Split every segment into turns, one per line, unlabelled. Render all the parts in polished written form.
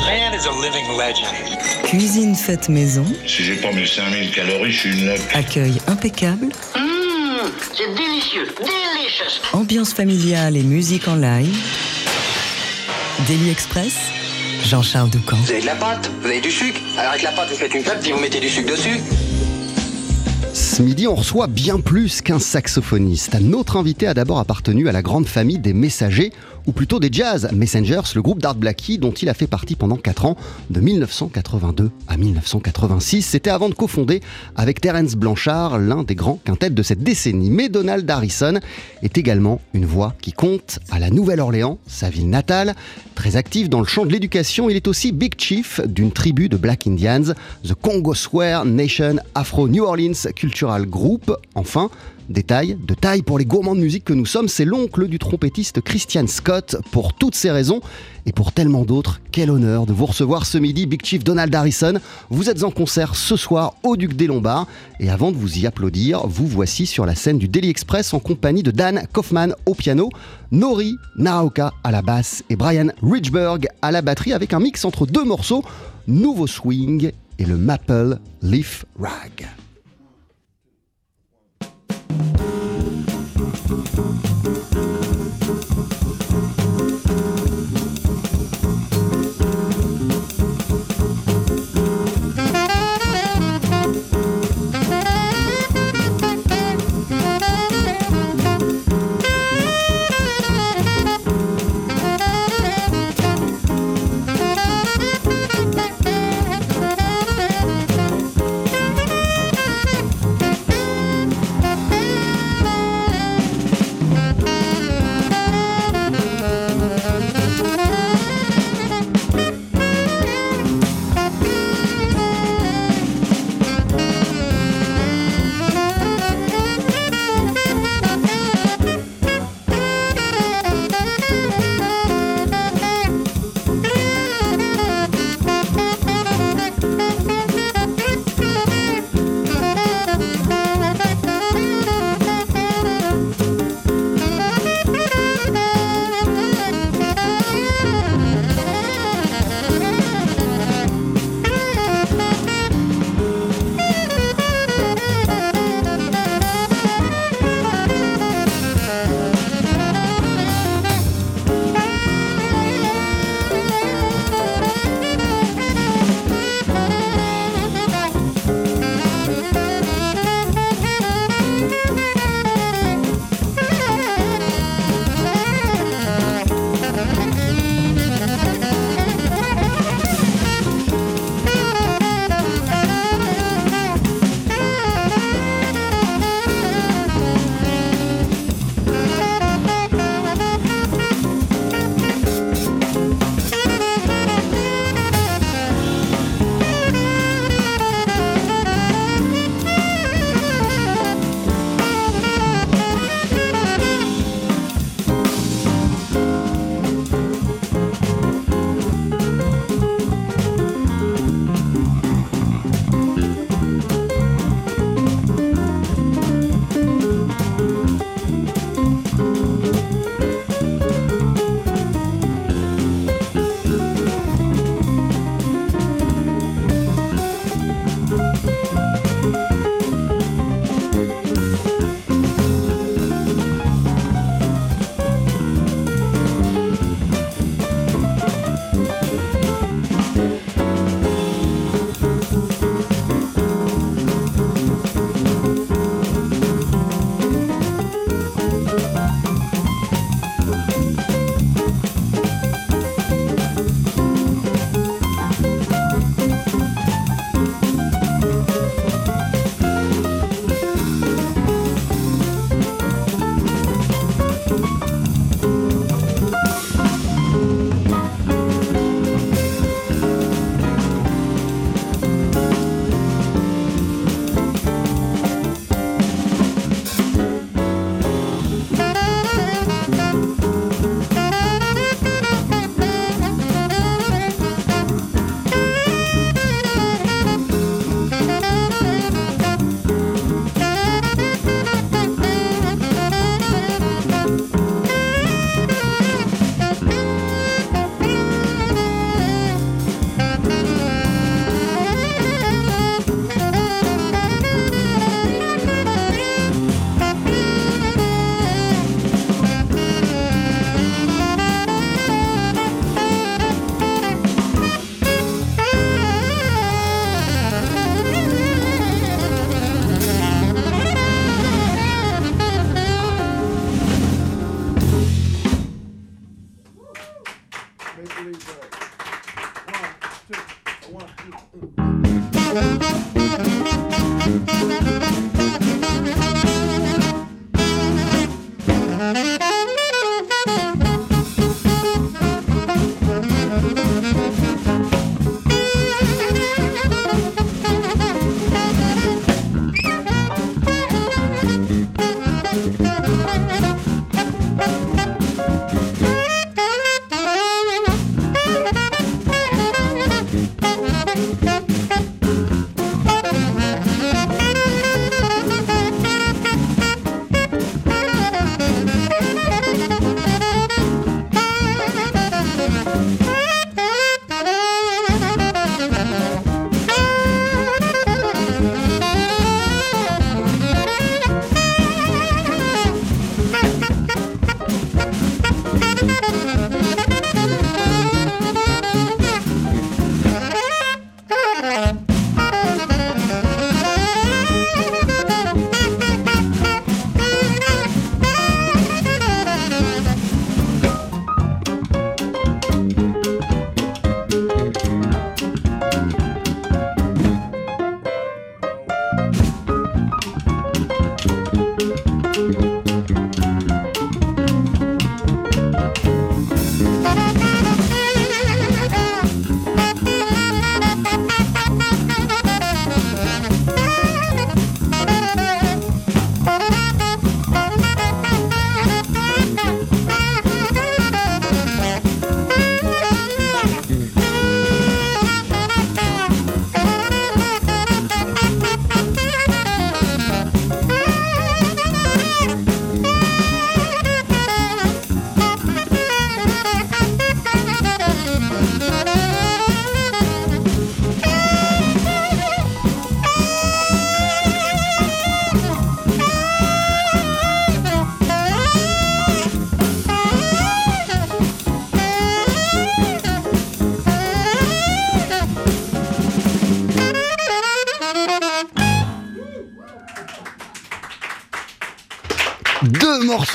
man is a living legend.
Cuisine faite maison.
Si j'ai pas mes 5000 calories, je suis une loque.
Accueil impeccable.
C'est délicieux, delicious.
Ambiance familiale et musique en live. Daily Express, Jean-Charles Doucan.
Vous avez de la pâte, vous avez du sucre. Alors avec la pâte, vous faites une pâte, puis vous mettez du sucre dessus.
Ce midi, on reçoit bien plus qu'un saxophoniste. Notre invité a d'abord appartenu à la grande famille des Messagers, ou plutôt des Jazz Messengers, le groupe d'Art Blakey dont il a fait partie pendant 4 ans, de 1982 à 1986. C'était avant de cofonder avec Terence Blanchard, l'un des grands quintets de cette décennie. Mais Donald Harrison est également une voix qui compte à la Nouvelle-Orléans, sa ville natale. Très actif dans le champ de l'éducation, il est aussi Big Chief d'une tribu de Black Indians, The Congo Square Nation Afro New Orleans Cultural Group. Enfin, de taille pour les gourmands de musique que nous sommes, c'est l'oncle du trompettiste Christian Scott. Pour toutes ces raisons et pour tellement d'autres, quel honneur de vous recevoir ce midi, Big Chief Donald Harrison. Vous êtes en concert ce soir au Duc des Lombards et avant de vous y applaudir, vous voici sur la scène du Daily Express en compagnie de Dan Kaufman au piano, Nori Naraoka à la basse et Brian Ridgeberg à la batterie avec un mix entre 2 morceaux, Nouveau Swing et le Maple Leaf Rag.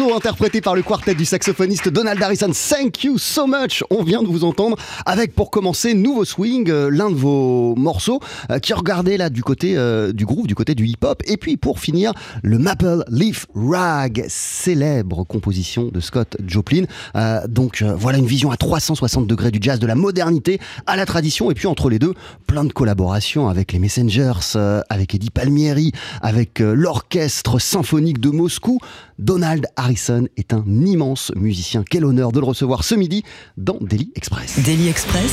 Morceau interprété par le quartet du saxophoniste Donald Harrison, Thank You So Much. On vient de vous entendre avec, pour commencer, Nouveau Swing, l'un de vos morceaux qui regardait là du côté du groove, du côté du hip-hop. Et puis pour finir, le Maple Leaf Rag, célèbre composition de Scott Joplin. Voilà une vision à 360 degrés du jazz, de la modernité à la tradition. Et puis entre les deux, plein de collaborations avec les Messengers, avec Eddie Palmieri, avec l'orchestre symphonique de Moscou. Donald Harrison est un immense musicien. Quel honneur de le recevoir ce midi dans Daily Express.
Daily Express.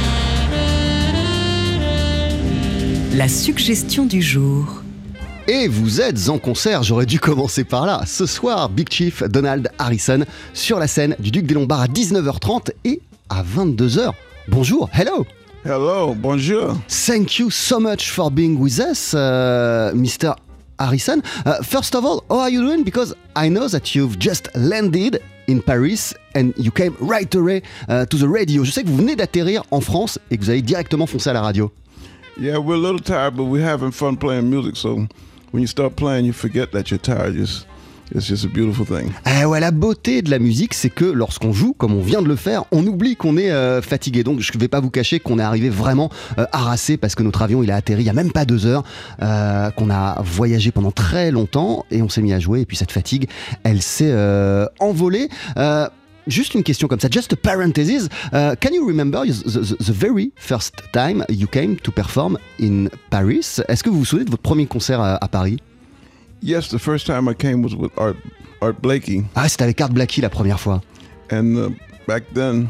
La suggestion du jour.
Et vous êtes en concert, j'aurais dû commencer par là. Ce soir, Big Chief Donald Harrison sur la scène du Duc des Lombards à 19h30 et à 22h. Bonjour, hello.
Hello, bonjour.
Thank you so much for being with us, Mr. Harrison. First of all, how are you doing? Because I know that you've just landed in Paris and you came right away to the radio. Je sais que vous venez d'atterrir en France et que vous avez directement foncé à la radio.
Yeah, we're a little tired, but we're having fun playing music. So when you start playing, you forget that you're tired. It's just a beautiful thing.
Ouais, la beauté de la musique, c'est que lorsqu'on joue, comme on vient de le faire, on oublie qu'on est fatigué. Donc je ne vais pas vous cacher qu'on est arrivé vraiment harassé parce que notre avion il a atterri il n'y a même pas 2 heures, qu'on a voyagé pendant très longtemps et on s'est mis à jouer et puis cette fatigue, elle s'est envolée. Juste une question comme ça, just a parenthesis. Can you remember the very first time you came to perform in Paris? Est-ce que vous vous souvenez de votre premier concert à Paris?
Yes, the first time I came was with Art Blakey.
Ah, c'était avec Art Blakey la première fois.
And back then,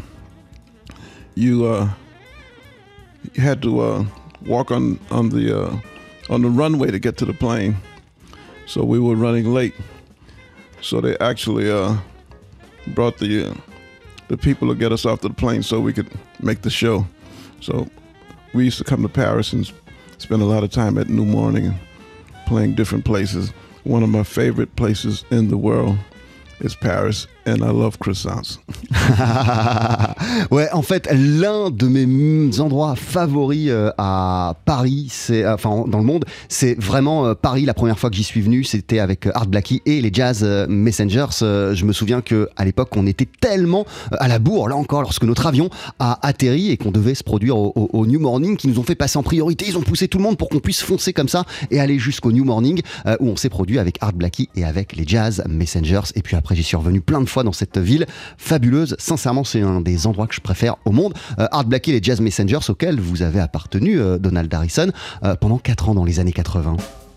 you had to walk on the runway to get to the plane. So we were running late. So they actually brought the people to get us off the plane so we could make the show. So we used to come to Paris and spend a lot of time at New Morning and playing different places. One of my favorite places in the world is Paris, and I love croissants.
Ouais, en fait, l'un de mes endroits favoris à Paris, dans le monde, c'est vraiment Paris. La première fois que j'y suis venu, c'était avec Art Blakey et les Jazz Messengers. Je me souviens qu'à l'époque, on était tellement à la bourre, là encore, lorsque notre avion a atterri et qu'on devait se produire au New Morning, qui nous ont fait passer en priorité. Ils ont poussé tout le monde pour qu'on puisse foncer comme ça et aller jusqu'au New Morning, où on s'est produit avec Art Blakey et avec les Jazz Messengers. Et puis après, j'y suis revenu plein de fois dans cette ville fabuleuse. Sincèrement, c'est un des endroits que je préfère au monde. Art Blakey et les Jazz Messengers auxquels vous avez appartenu, Donald Harrison, pendant 4 ans dans les années 80.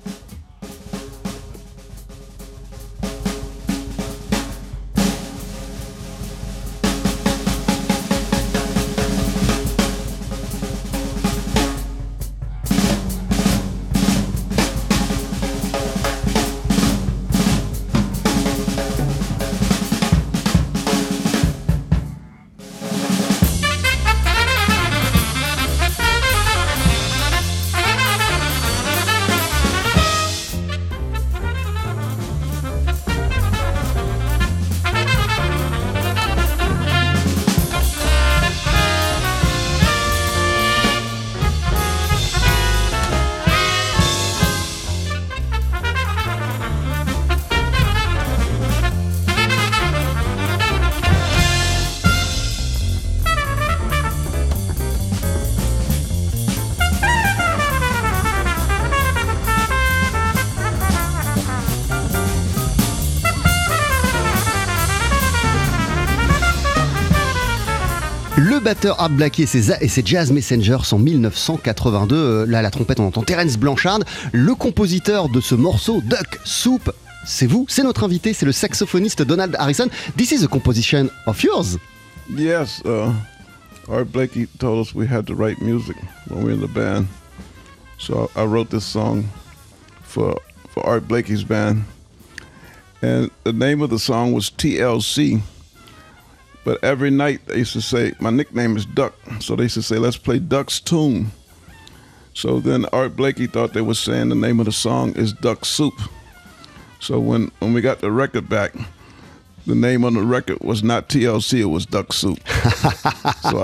Le batteur Art Blakey et ses Jazz Messengers en 1982. Là, à la trompette, on entend Terence Blanchard. Le compositeur de ce morceau, Duck Soup, c'est vous, c'est notre invité, c'est le saxophoniste Donald Harrison. This is a composition of yours.
Yes, Art Blakey told us we had to write music when we were in the band. So I wrote this song for Art Blakey's band. And the name of the song was TLC. But every night they used to say, my nickname is Duck. So they used to say, let's play Duck's Tune. So then Art Blakey thought they were saying the name of the song is Duck Soup. So when we got the record back, the name on the record was not TLC, it was Duck Soup. So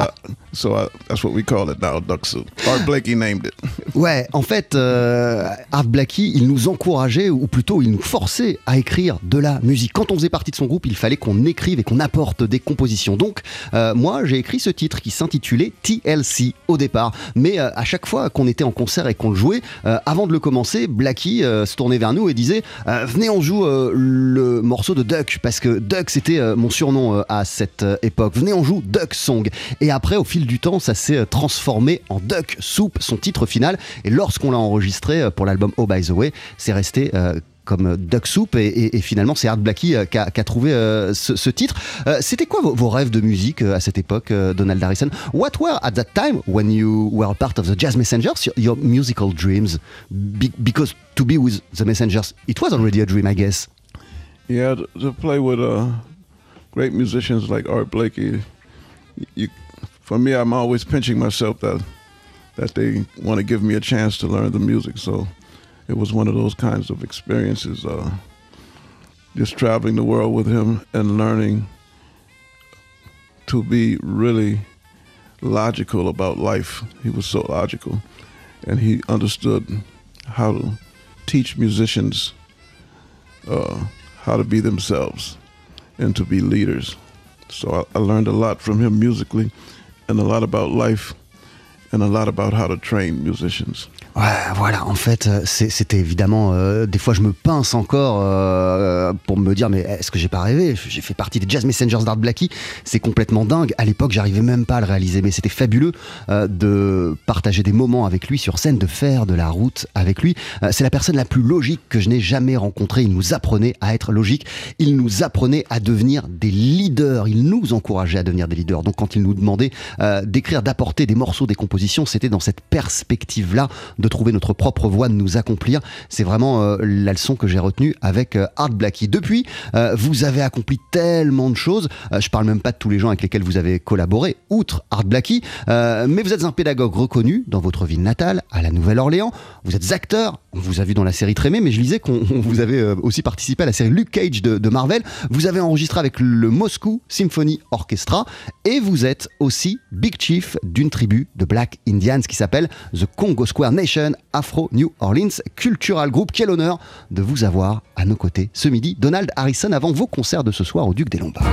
So that's what we call it now, Duck Soup. Art Blakey named it.
Ouais, en fait, Art Blakey, il nous encourageait, ou plutôt il nous forçait à écrire de la musique. Quand on faisait partie de son groupe, il fallait qu'on écrive et qu'on apporte des compositions. Donc, moi, j'ai écrit ce titre qui s'intitulait TLC au départ. Mais à chaque fois qu'on était en concert et qu'on le jouait, avant de le commencer, Blakey se tournait vers nous et disait venez, on joue le morceau de Duck, parce que Duck, c'était mon surnom à cette époque. Venez, on joue Duck Song. Et après, au fil du temps, ça s'est transformé en Duck Soup, son titre final. Et lorsqu'on l'a enregistré pour l'album Oh By The Way, c'est resté comme Duck Soup, et finalement c'est Art Blakey qui a trouvé ce titre. C'était quoi vos rêves de musique à cette époque, Donald Harrison? What were at that time, when you were part of the Jazz Messengers, your musical dreams? Because to be with the Messengers, it was already a dream, I guess.
Yeah, to play with great musicians like Art Blakey, for me, I'm always pinching myself that they want to give me a chance to learn the music. So it was one of those kinds of experiences, just traveling the world with him and learning to be really logical about life. He was so logical, and he understood how to teach musicians how to be themselves and to be leaders. So I learned a lot from him musically, and a lot about life, and a lot about how to train musicians.
Ouais, voilà, en fait, c'était évidemment... des fois, je me pince encore pour me dire, mais est-ce que j'ai pas rêvé? J'ai fait partie des Jazz Messengers d'Art Blakey, c'est complètement dingue. À l'époque, j'arrivais même pas à le réaliser, mais c'était fabuleux de partager des moments avec lui sur scène, de faire de la route avec lui. C'est la personne la plus logique que je n'ai jamais rencontrée. Il nous apprenait à être logique, il nous apprenait à devenir des leaders, il nous encourageait à devenir des leaders. Donc quand il nous demandait d'écrire, d'apporter des morceaux, des compositions, c'était dans cette perspective-là de trouver notre propre voie, de nous accomplir. C'est vraiment la leçon que j'ai retenue avec Art Blakey. Depuis, vous avez accompli tellement de choses. Je parle même pas de tous les gens avec lesquels vous avez collaboré, outre Art Blakey, mais vous êtes un pédagogue reconnu dans votre ville natale, à la Nouvelle-Orléans. Vous êtes acteur, on vous a vu dans la série Trémé, mais je lisais qu'on vous avez aussi participé à la série Luke Cage de Marvel. Vous avez enregistré avec le Moscow Symphony Orchestra, et vous êtes aussi Big Chief d'une tribu de Black Indians qui s'appelle The Congo Square Nation Afro New Orleans Cultural Group. Quel honneur de vous avoir à nos côtés ce midi, Donald Harrison, avant vos concerts de ce soir au Duc des Lombards.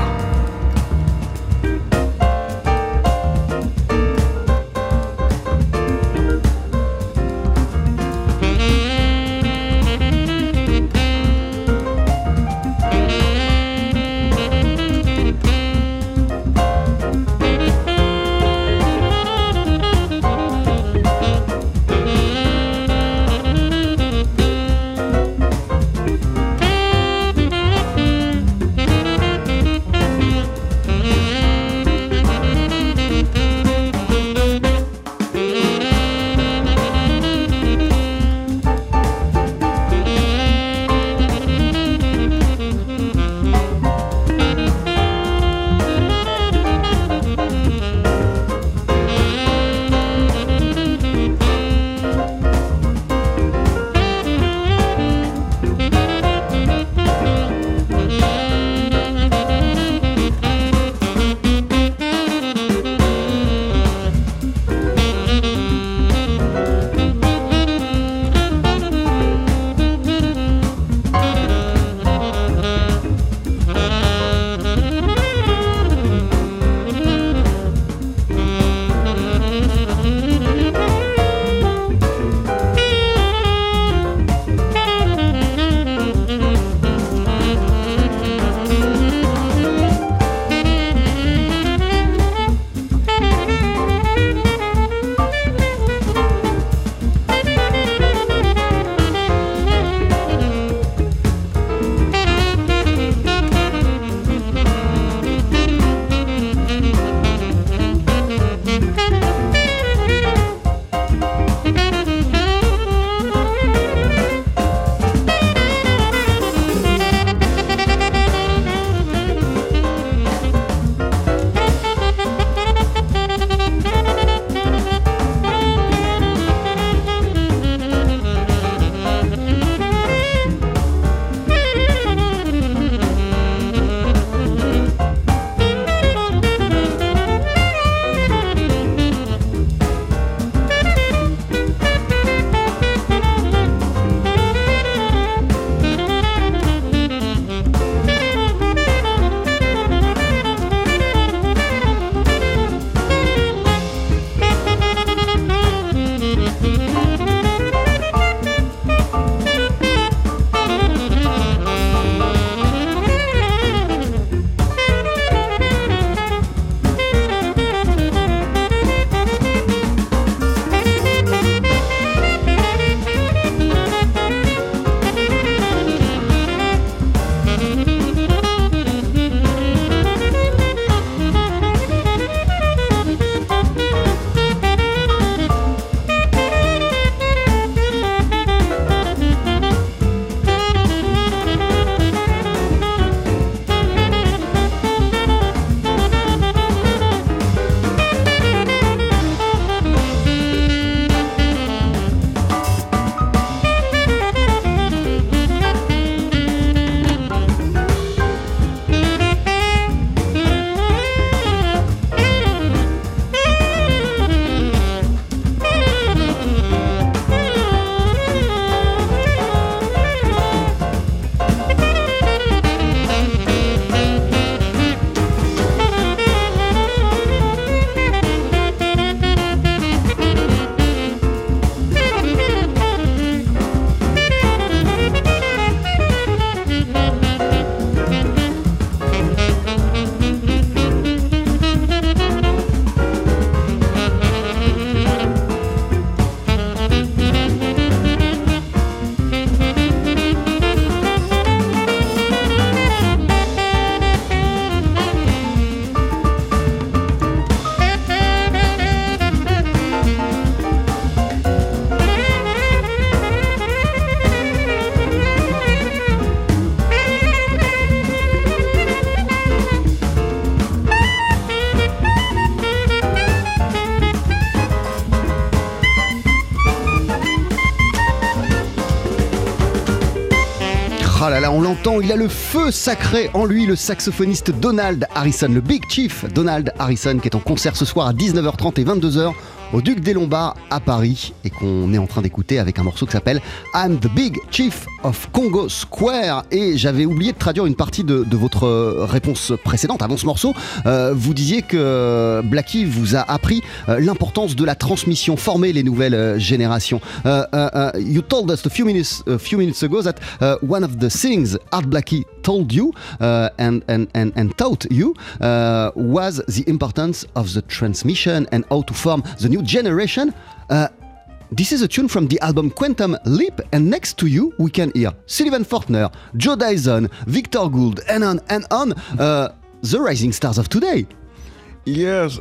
Ah là là, on l'entend, il a le feu sacré en lui, le saxophoniste Donald Harrison, le Big Chief Donald Harrison, qui est en concert ce soir à 19h30 et 22h au Duc des Lombards à Paris et qu'on est en train d'écouter avec un morceau qui s'appelle I'm the Big Chief of Congo Square. Et j'avais oublié de traduire une partie de votre réponse précédente avant ce morceau. Vous disiez que Blackie vous a appris l'importance de la transmission, former les nouvelles générations. You told us a few minutes ago that one of the things Art Blakey told you and taught you was the importance of the transmission and how to form the new generation. This is a tune from the album Quantum Leap, and next to you we can hear Sullivan Fortner, Joe Dyson, Victor Gould, and on, the rising stars of today.
Yes,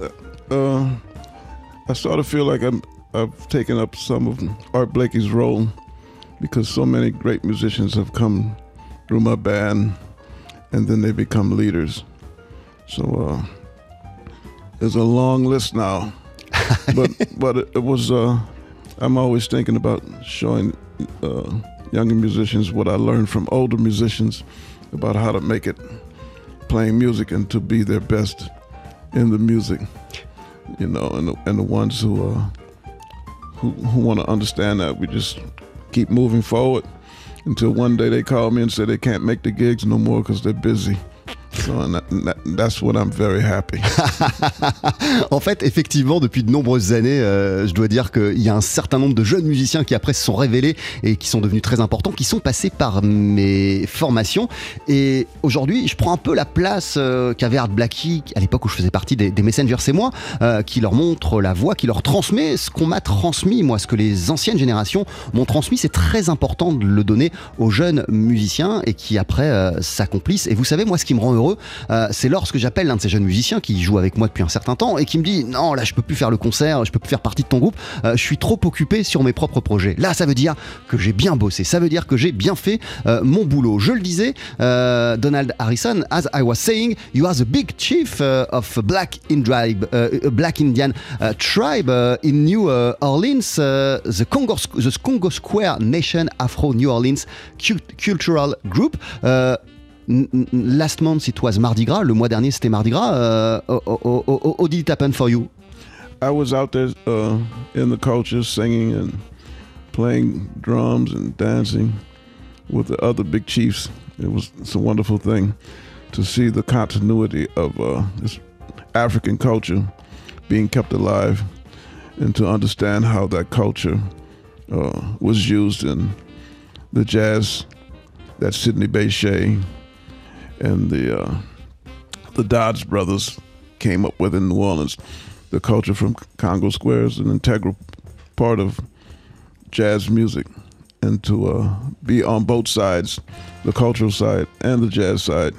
I sort of feel like I've taken up some of Art Blakey's role because so many great musicians have come through my band and then they become leaders. So there's a long list now. but it was I'm always thinking about showing younger musicians what I learned from older musicians about how to make it playing music and to be their best in the music, you know, and the ones who want to understand that we just keep moving forward until one day they call me and say they can't make the gigs no more because they're busy. So that's when I'm very happy.
En fait, effectivement, depuis de nombreuses années, je dois dire qu'il y a un certain nombre de jeunes musiciens qui après se sont révélés et qui sont devenus très importants, qui sont passés par mes formations. Et aujourd'hui, je prends un peu la place qu'avait Art Blakey à l'époque où je faisais partie des Messengers, c'est moi, qui leur montre la voie, qui leur transmet ce qu'on m'a transmis, moi, ce que les anciennes générations m'ont transmis. C'est très important de le donner aux jeunes musiciens et qui après s'accomplissent. Et vous savez, moi, ce qui me rend heureux, c'est lorsque j'appelle l'un de ces jeunes musiciens qui joue avec moi depuis un certain temps et qui me dit non, là je peux plus faire le concert, je peux plus faire partie de ton groupe, je suis trop occupé sur mes propres projets. Là ça veut dire que j'ai bien bossé, ça veut dire que j'ai bien fait mon boulot. Je le disais, Donald Harrison, as I was saying, you are the big chief of Black Indian tribe in New Orleans, the Congo Square Nation Afro New Orleans Cultural Group. Last month it was Mardi Gras. Le mois dernier c'était Mardi Gras. How did it happen for you?
I was out there in the culture singing and playing drums and dancing with the other big chiefs. It's a wonderful thing to see the continuity of this African culture being kept alive and to understand how that culture was used in the jazz that Sidney Bechet and the Dodds brothers came up with in New Orleans. The culture from Congo Square is an integral part of jazz music. And to be on both sides, the cultural side and the jazz side,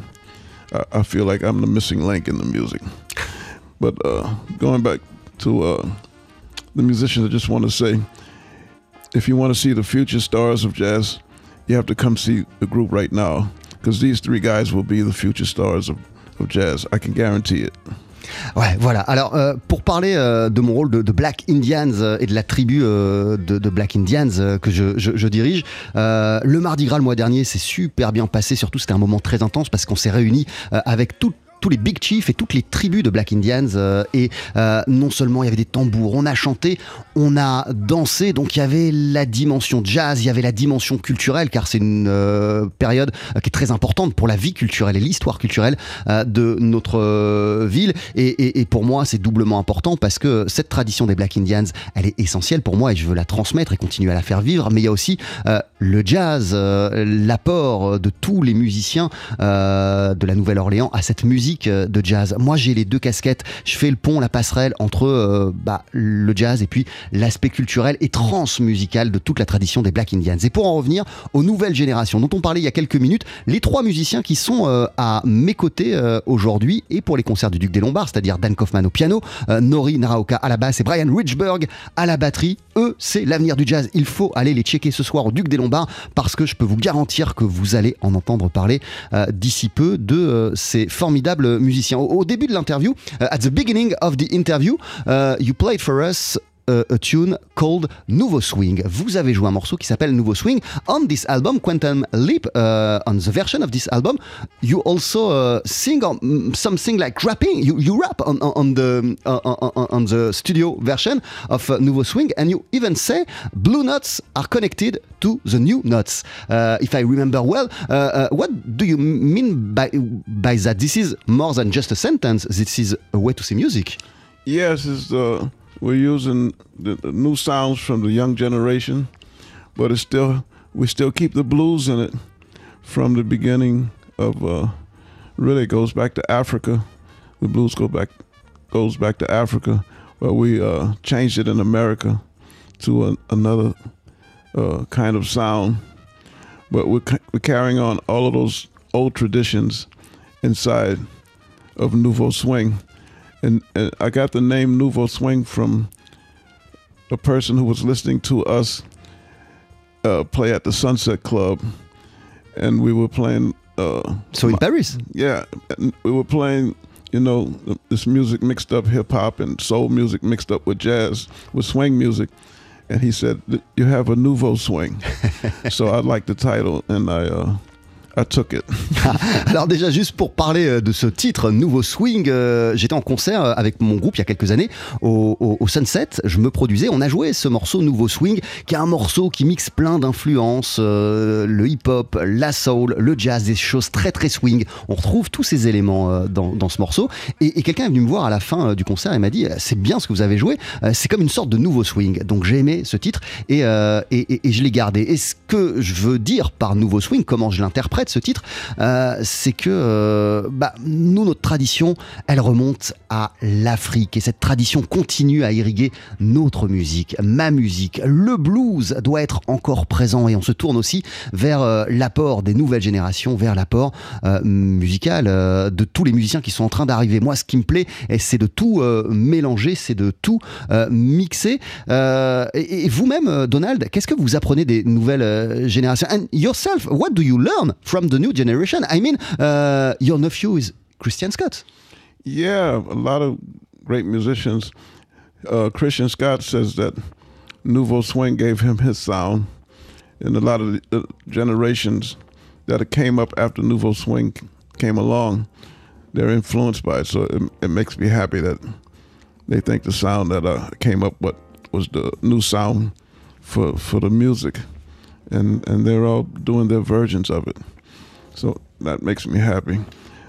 I feel like I'm the missing link in the music. But going back to the musicians, I just want to say, if you want to see the future stars of jazz, you have to come see the group right now. Because these three guys will be the future stars of jazz. I can guarantee it.
Ouais, voilà. Alors, pour parler de mon rôle de Black Indians et de la tribu de Black Indians que je dirige, le Mardi Gras le mois dernier s'est super bien passé. Surtout, c'était un moment très intense parce qu'on s'est réunis avec tous les Big Chiefs et toutes les tribus de Black Indians et non seulement il y avait des tambours, on a chanté, on a dansé, donc il y avait la dimension jazz, il y avait la dimension culturelle car c'est une période qui est très importante pour la vie culturelle et l'histoire culturelle de notre ville et pour moi c'est doublement important parce que cette tradition des Black Indians elle est essentielle pour moi et je veux la transmettre et continuer à la faire vivre, mais il y a aussi le jazz, l'apport de tous les musiciens de la Nouvelle-Orléans à cette musique de jazz. Moi j'ai les deux casquettes, je fais le pont, la passerelle entre le jazz et puis l'aspect culturel et transmusical de toute la tradition des Black Indians. Et pour en revenir aux nouvelles générations dont on parlait il y a quelques minutes, les trois musiciens qui sont à mes côtés aujourd'hui et pour les concerts du Duc des Lombards, c'est-à-dire Dan Kaufman au piano, Nori Naraoka à la basse et Brian Richburg à la batterie, eux c'est l'avenir du jazz. Il faut aller les checker ce soir au Duc des Lombards parce que je peux vous garantir que vous allez en entendre parler d'ici peu de ces formidables musiciens. Au début de l'interview, at the beginning of the interview, you played for us a tune called Nouveau Swing. Vous avez joué un morceau qui s'appelle Nouveau Swing. On this album, Quantum Leap, on the version of this album, you also sing something like rapping. You rap on the studio version of Nouveau Swing, and you even say blue notes are connected to the new notes. If I remember well, what do you mean by that? This is more than just a sentence. This is a way to see music.
Yes, we're using the new sounds from the young generation, but we still keep the blues in it from the beginning of. Really goes back to Africa. The blues goes back to Africa, but we changed it in America to another kind of sound. But we're carrying on all of those old traditions inside of Nouveau Swing. And I got the name Nouveau Swing from a person who was listening to us play at the Sunset Club. And we were playing...
So in Paris?
Yeah. And we were playing, this music mixed up hip-hop and soul music mixed up with jazz, with swing music. And he said, you have a nouveau swing. So I liked the title, and I took it.
Alors déjà, juste pour parler de ce titre, Nouveau Swing, j'étais en concert avec mon groupe il y a quelques années au Sunset, je me produisais, on a joué ce morceau Nouveau Swing, qui est un morceau qui mixe plein d'influences, le hip-hop, la soul, le jazz, des choses très très swing. On retrouve tous ces éléments dans ce morceau, et quelqu'un est venu me voir à la fin du concert et m'a dit, c'est bien ce que vous avez joué, c'est comme une sorte de nouveau swing. Donc j'ai aimé ce titre et je l'ai gardé. Et ce que je veux dire par Nouveau Swing, comment je l'interprète ce titre, c'est que nous, notre tradition, elle remonte à l'Afrique, et cette tradition continue à irriguer notre musique, ma musique. Le blues doit être encore présent, et on se tourne aussi vers l'apport des nouvelles générations, vers l'apport musical de tous les musiciens qui sont en train d'arriver. Moi, ce qui me plaît, c'est de tout mélanger, c'est de tout mixer. Et vous-même, Donald, qu'est-ce que vous apprenez des nouvelles générations? And yourself, what do you learn from the new generation? I mean, your nephew is Christian Scott.
Yeah, a lot of great musicians. Christian Scott says that Nouveau Swing gave him his sound, and a lot of the generations that came up after Nouveau Swing came along, they're influenced by it. So it makes me happy that they think the sound that came up was the new sound for the music, and they're all doing their versions of it. So that makes me happy.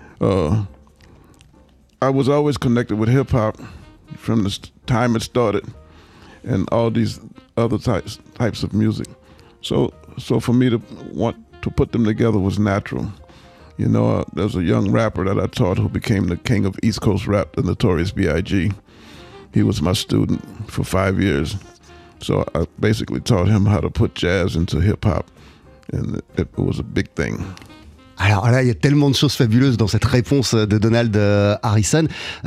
I was always connected with hip-hop from the time it started, and all these other types of music. So for me to want to put them together was natural. There's a young rapper that I taught who became the king of East Coast rap, the Notorious B.I.G. He was my student for 5 years. So I basically taught him how to put jazz into hip-hop, and it was a big thing.
Alors là, il y a tellement de choses fabuleuses dans cette réponse de Donald Harrison.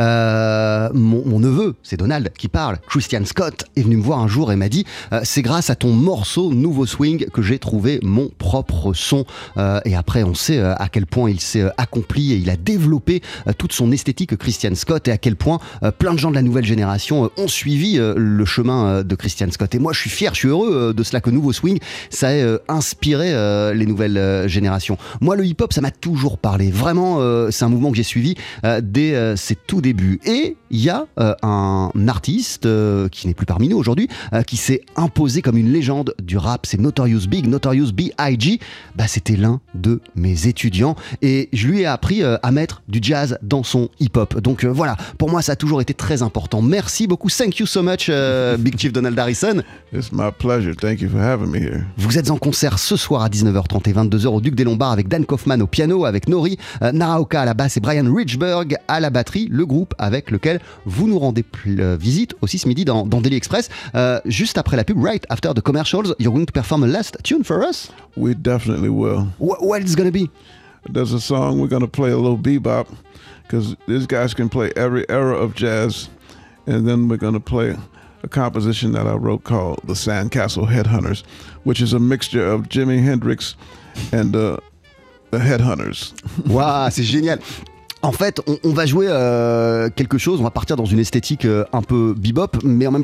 Mon neveu, c'est Donald qui parle. Christian Scott est venu me voir un jour et m'a dit c'est grâce à ton morceau Nouveau Swing que j'ai trouvé mon propre son. Et après, on sait à quel point il s'est accompli et il a développé toute son esthétique, Christian Scott, et à quel point plein de gens de la nouvelle génération ont suivi le chemin de Christian Scott. Et moi, je suis fier, je suis heureux de cela, que Nouveau Swing, ça ait inspiré les nouvelles générations. Moi, le hip-hop, ça m'a toujours parlé. Vraiment, c'est un mouvement que j'ai suivi dès ses tout débuts. Et il y a un artiste qui n'est plus parmi nous aujourd'hui, qui s'est imposé comme une légende du rap. C'est Notorious B.I.G. C'était l'un de mes étudiants. Et je lui ai appris à mettre du jazz dans son hip-hop. Donc voilà, pour moi, ça a toujours été très important. Merci beaucoup. Thank you so much, Big Chief Donald Harrison.
It's my pleasure. Thank you for having me here.
Vous êtes en concert ce soir à 19h30 et 22h au Duc des Lombards avec Dan Kaufman au piano, avec Nori Naraoka à la basse et Brian Richburg à la batterie, le groupe avec lequel vous nous rendez visite aussi ce midi dans Daily Express. Juste après la pub, right after the commercials, you're going to perform a last tune for us?
We definitely will.
What is going to be?
There's a song we're going to play a little bebop, because these guys can play every era of jazz, and then we're going to play a composition that I wrote called The Sandcastle Headhunters, which is a mixture of Jimi Hendrix and the Headhunters.
Waouh, c'est génial. En fait, on va jouer quelque chose, on va partir dans une esthétique un peu bebop, mais en même temps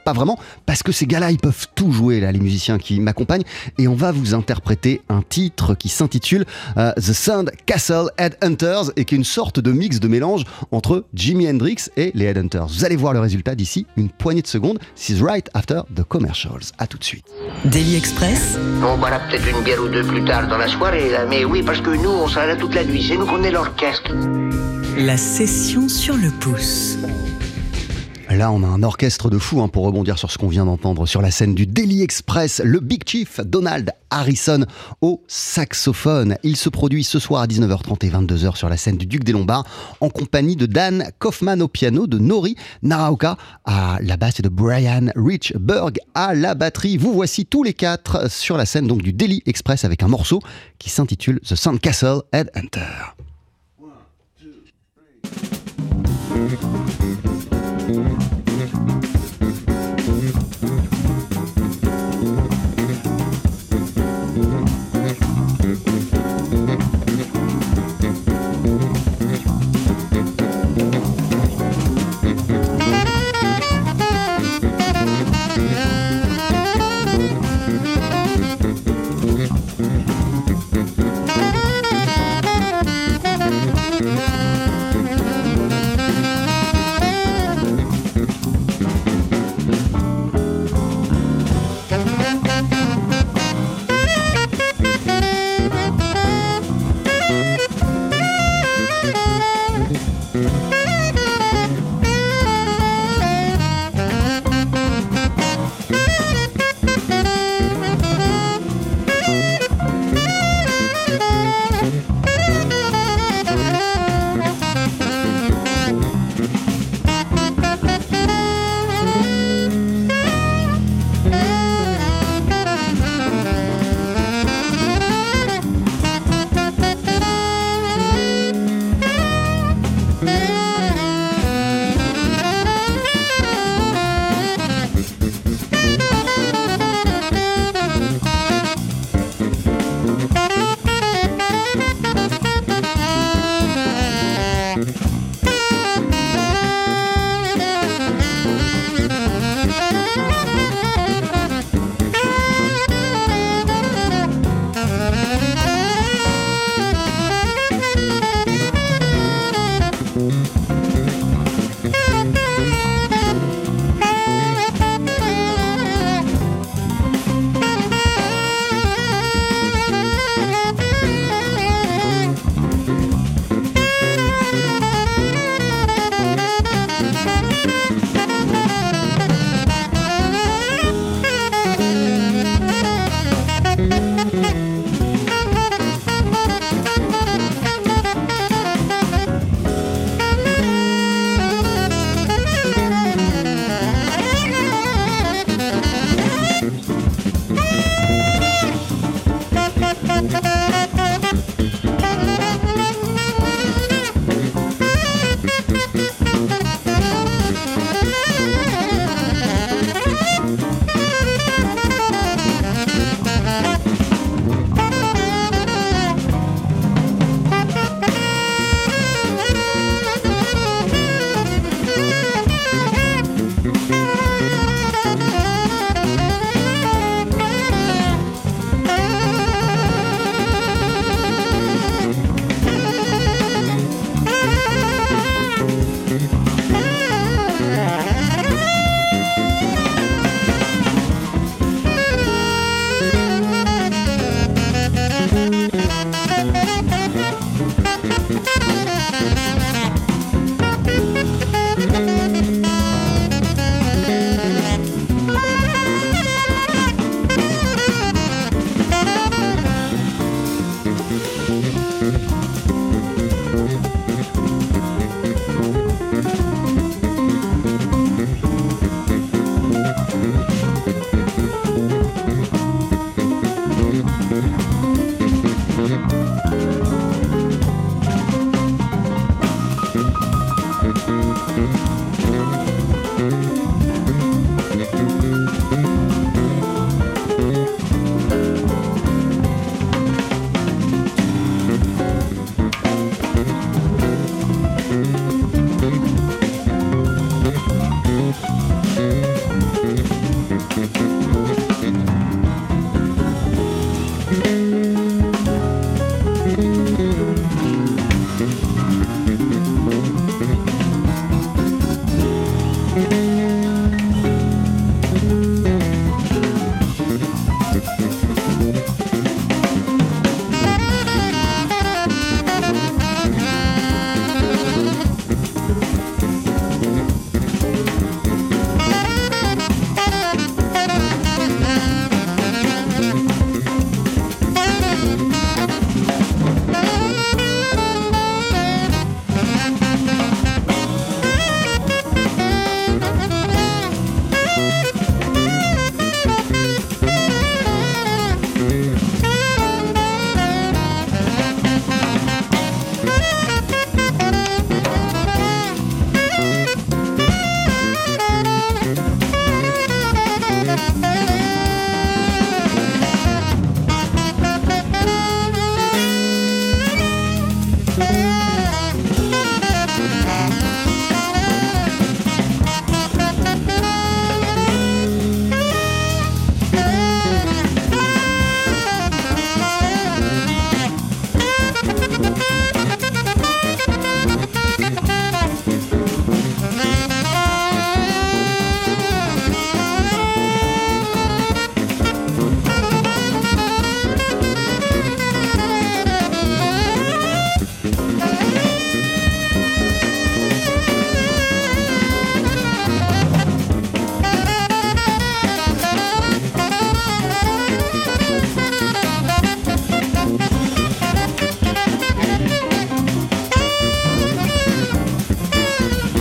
pas vraiment, parce que ces gars-là, ils peuvent tout jouer, là, les musiciens qui m'accompagnent. Et on va vous interpréter un titre qui s'intitule The Sand Castle Headhunters, et qui est une sorte de mix de mélange entre Jimi Hendrix et les Headhunters. Vous allez voir le résultat d'ici une poignée de secondes. This is right after the commercials. À tout de suite.
Daily Express,
On boira peut-être une bière ou deux plus tard dans la soirée, là. Mais oui, parce que nous, on sera là toute la nuit. C'est nous qu'on est l'orchestre.
la session sur le pouce.
Là, on a un orchestre de fous pour rebondir sur ce qu'on vient d'entendre sur la scène du Daily Express. Le Big Chief, Donald Harrison, au saxophone. Il se produit ce soir à 19h30 et 22h sur la scène du Duc des Lombards en compagnie de Dan Kaufman au piano, de Nori Naraoka à la basse et de Brian Richburg à la batterie. Vous voici tous les quatre sur la scène donc du Daily Express avec un morceau qui s'intitule The Sandcastle Headhunter.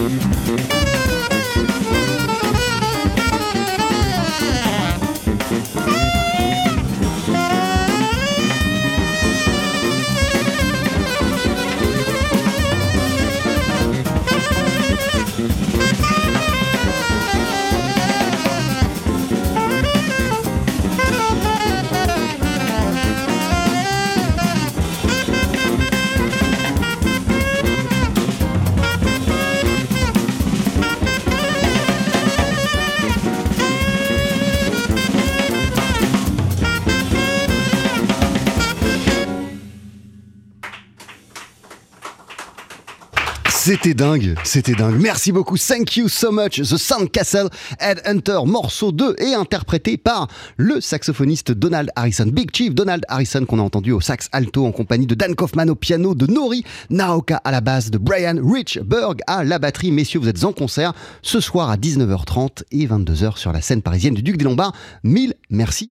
C'était dingue. Merci beaucoup. Thank you so much. The Sandcastle Headhunter, morceau 2 et interprété par le saxophoniste Donald Harrison. Big Chief Donald Harrison qu'on a entendu au sax alto en compagnie de Dan Kaufman au piano, de Nori Naoka à la basse, de Brian Richburg à la batterie. Messieurs, vous êtes en concert ce soir à 19h30 et 22h sur la scène parisienne du Duc des Lombards. Mille merci.